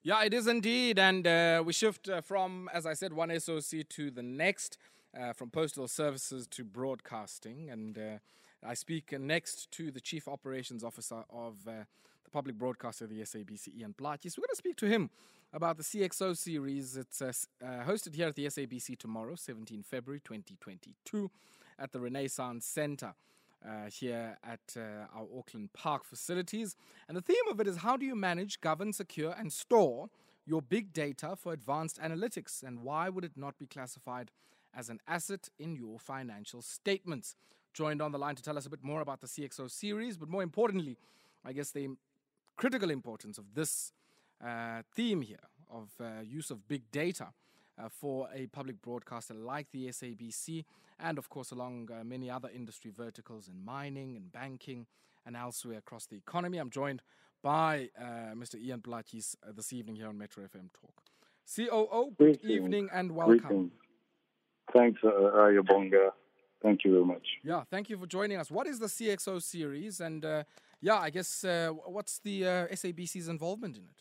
Yeah, it is indeed. And we shift from, as I said, one SOC to the next, from postal services to broadcasting. And I speak next to the Chief Operations Officer of the public broadcaster, the SABC, Ian Plaatjes. We're going to speak to him about the CXO series. It's hosted here at the SABC tomorrow, 17 February 2022, at the Renaissance Centre. Here at our Auckland Park facilities. And the theme of it is how do you manage, govern, secure, and store your big data for advanced analytics? And why would it not be classified as an asset in your financial statements? Joined on the line to tell us a bit more about the CXO series, but more importantly, I guess the critical importance of this theme here of use of big data for a public broadcaster like the SABC, and of course along many other industry verticals in mining and banking and elsewhere across the economy. I'm joined by Mr. Ian Plaatjes this evening here on Metro FM Talk. COO, good evening and welcome. Greetings. Thanks, Ayabonga. Thank you very much. Yeah, thank you for joining us. What is the CXO series? And I guess what's the SABC's involvement in it?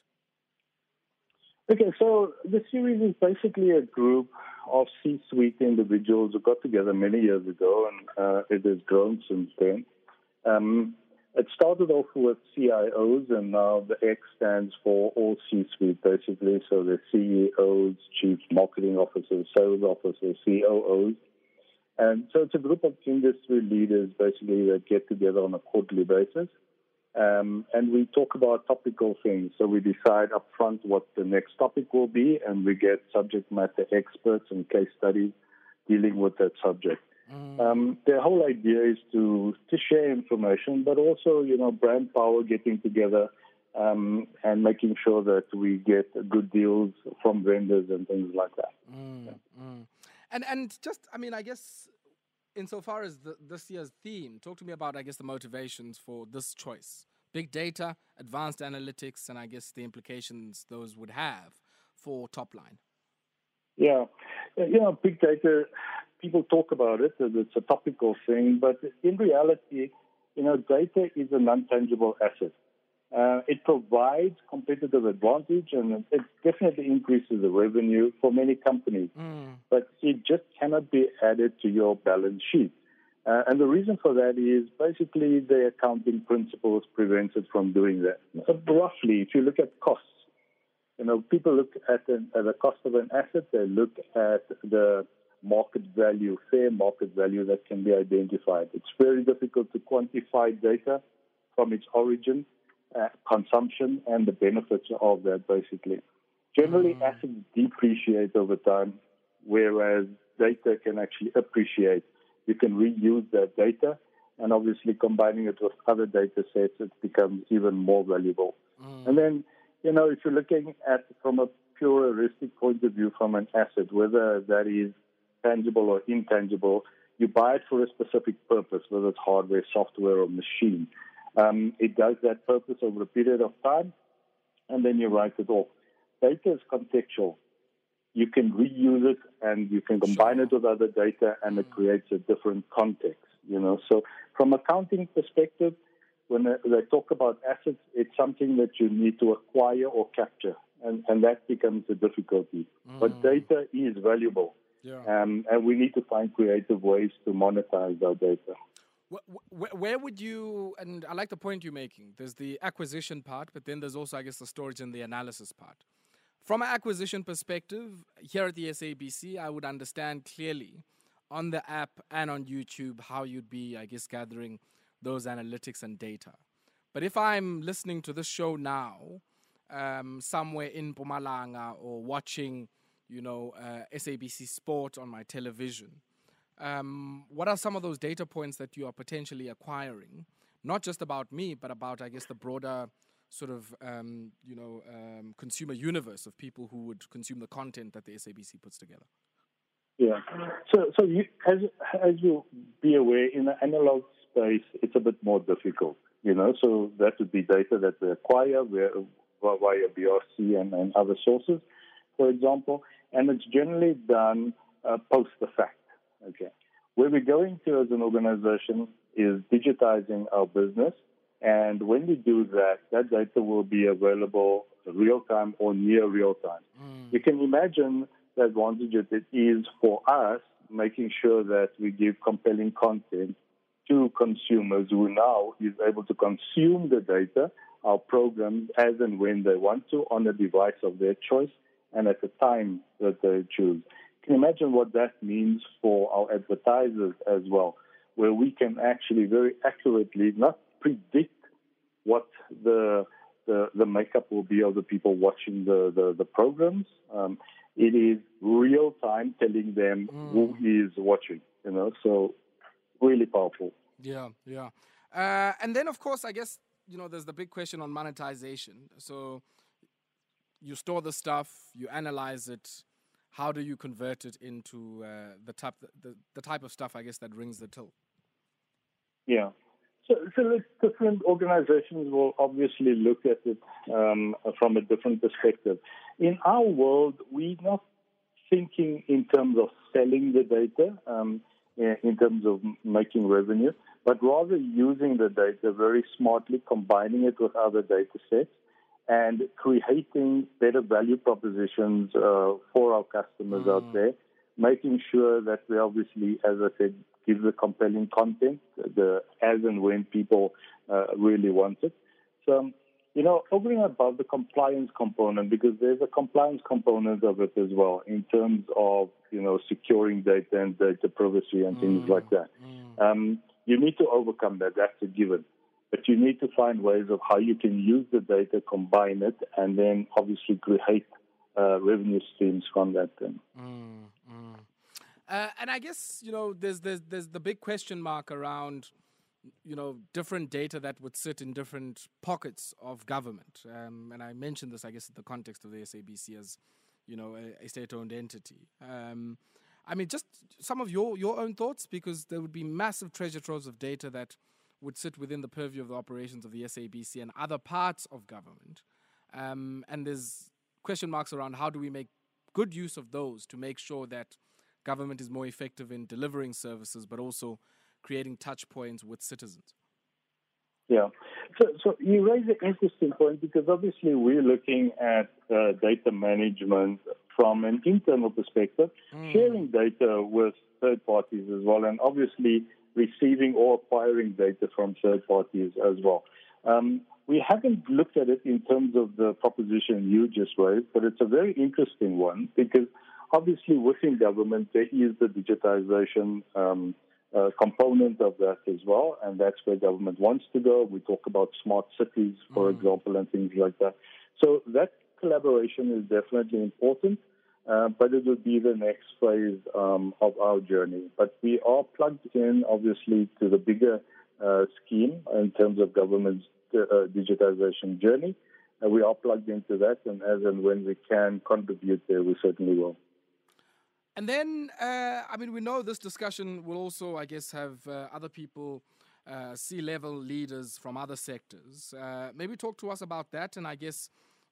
Okay, so the series is basically a group of C-suite individuals who got together many years ago, and it has grown since then. It started off with CIOs, and now the X stands for all C-suite, basically. So the CEOs, chief marketing officers, sales officers, COOs. And so it's a group of industry leaders, basically, that get together on a quarterly basis. And we talk about topical things. So we decide up front what the next topic will be, and we get subject matter experts and case studies dealing with that subject. The whole idea is to share information, but also, brand power, getting together and making sure that we get good deals from vendors and things like that. And just, I guess, insofar as this year's theme, talk to me about, the motivations for this choice. Big data, advanced analytics, and I guess the implications those would have for top line. Yeah. Big data, people talk about it as it's a topical thing, but in reality, data is a non-tangible asset. It provides competitive advantage, and it definitely increases the revenue for many companies. But it just cannot be added to your balance sheet. And the reason for that is basically the accounting principles prevents it from doing that. Roughly, if you look at costs, people look at the cost of an asset, they look at the market value, fair market value that can be identified. It's very difficult to quantify data from its origin, consumption, and the benefits of that, basically. Generally, assets depreciate over time, whereas data can actually appreciate. You can reuse that data, and obviously combining it with other data sets, it becomes even more valuable. And then, if you're looking at from a pure heuristic point of view from an asset, whether that is tangible or intangible, you buy it for a specific purpose, whether it's hardware, software, or machine. It does that purpose over a period of time, and then you write it off. Data is contextual. You can reuse it, and you can combine it with other data, and it creates a different context, So from accounting perspective, when they talk about assets, it's something that you need to acquire or capture, and that becomes a difficulty. But data is valuable, and we need to find creative ways to monetize our data. Where would you, and I like the point you're making, there's the acquisition part, but then there's also, I guess, the storage and the analysis part. From an acquisition perspective, here at the SABC, I would understand clearly on the app and on YouTube how you'd be, I guess, gathering those analytics and data. But if I'm listening to this show now, somewhere in Mpumalanga or watching, SABC Sport on my television, what are some of those data points that you are potentially acquiring? Not just about me, but about, I guess, the broader sort of, consumer universe of people who would consume the content that the SABC puts together. Yeah. So you, as you'll be aware, in the analog space, it's a bit more difficult, So that would be data that we acquire via BRC and other sources, for example. And it's generally done post the fact, okay? Where we're going to as an organization is digitizing our business. And when we do that, that data will be available real time or near real time. You can imagine the advantage that it is for us making sure that we give compelling content to consumers who now is able to consume the data, our programs, as and when they want to on a device of their choice and at the time that they choose. You can imagine what that means for our advertisers as well, where we can actually very accurately not predict what the makeup will be of the people watching the programs. It is real time telling them who is watching, so really powerful. Yeah. And then, of course, I guess, there's the big question on monetization. So you store the stuff, you analyze it. How do you convert it into the type of stuff, I guess, that rings the till? Yeah. So different organizations will obviously look at it from a different perspective. In our world, we're not thinking in terms of selling the data, in terms of making revenue, but rather using the data very smartly, combining it with other data sets, and creating better value propositions for our customers out there, making sure that we obviously, as I said, give the compelling content as and when people really want it. So, over and above the compliance component, because there's a compliance component of it as well in terms of, securing data and data privacy and things like that. You need to overcome that. That's a given. But you need to find ways of how you can use the data, combine it, and then obviously create revenue streams from that then. And I guess, there's the big question mark around, different data that would sit in different pockets of government. And I mentioned this, I guess, in the context of the SABC as, a state-owned entity. Just some of your own thoughts, because there would be massive treasure troves of data that would sit within the purview of the operations of the SABC and other parts of government. And there's question marks around how do we make good use of those to make sure that government is more effective in delivering services, but also creating touch points with citizens. Yeah. So you raise an interesting point, because obviously we're looking at data management from an internal perspective, sharing data with third parties as well, and obviously receiving or acquiring data from third parties as well. We haven't looked at it in terms of the proposition you just raised, but it's a very interesting one, because obviously within government there is the digitization component of that as well, and that's where government wants to go. We talk about smart cities, for example, and things like that. So that collaboration is definitely important, but it will be the next phase of our journey. But we are plugged in, obviously, to the bigger scheme in terms of government's digitization journey. We are plugged into that, and as and when we can contribute there, we certainly will. And then, we know this discussion will also, I guess, have other people, C-level leaders from other sectors. Maybe talk to us about that, and I guess,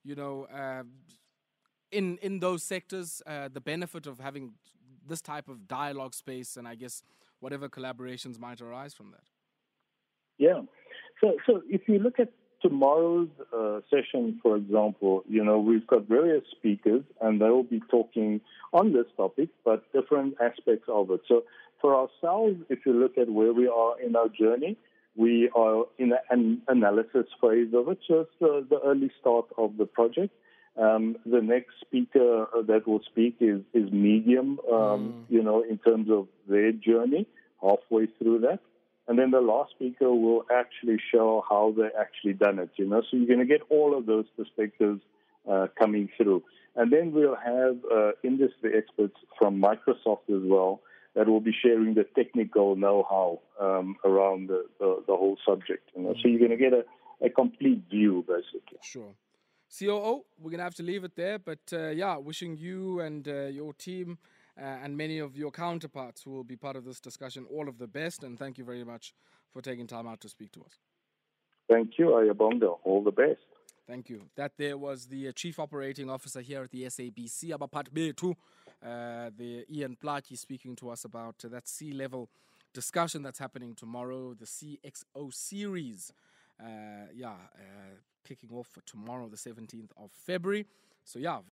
in those sectors, the benefit of having this type of dialogue space, and I guess whatever collaborations might arise from that. Yeah. So if you look at tomorrow's session, for example, we've got various speakers, and they will be talking on this topic, but different aspects of it. So for ourselves, if you look at where we are in our journey, we are in an analysis phase of it. So it's the early start of the project. The next speaker that will speak is medium, in terms of their journey, halfway through that. And then the last speaker will actually show how they actually done it, So you're going to get all of those perspectives coming through. And then we'll have industry experts from Microsoft as well that will be sharing the technical know-how around the whole subject. So you're going to get a complete view, basically. Sure. COO, we're going to have to leave it there. But, wishing you and your team and many of your counterparts who will be part of this discussion all of the best. And thank you very much for taking time out to speak to us. Thank you, Ayabonga. All the best. Thank you. That there was the Chief Operating Officer here at the SABC, Abapat Betu, the Ian Plaatje, speaking to us about that C-level discussion that's happening tomorrow, the CXO series. kicking off for tomorrow, the 17th of February. So yeah,